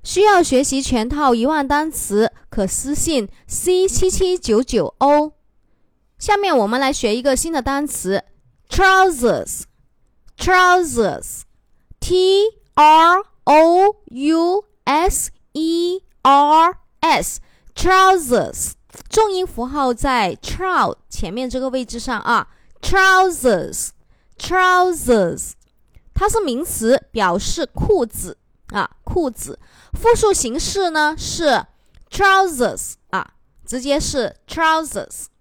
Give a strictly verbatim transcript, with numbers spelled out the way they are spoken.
需要学习全套一万单词，可私信 C 七七九九 O。下面我们来学一个新的单词 trousers trousers T R O U S E R S trousers 重音符号在 trout 前面这个位置上啊 trousers trousers 它是名词，表示裤子啊裤子，复数形式呢是 trousers 啊直接是 trousers。